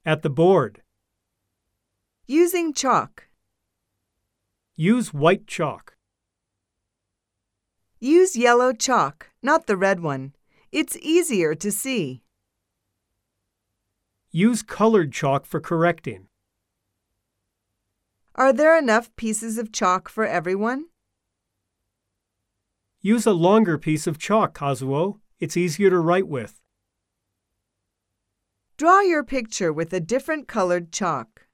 At the board. Using chalk. Use white chalk. Use yellow chalk, not the red one. It's easier to see. Use colored chalk for correcting. Are there enough pieces of chalk for everyone? Use a longer piece of chalk, Kazuo. It's easier to write with. Draw your picture with a different colored chalk.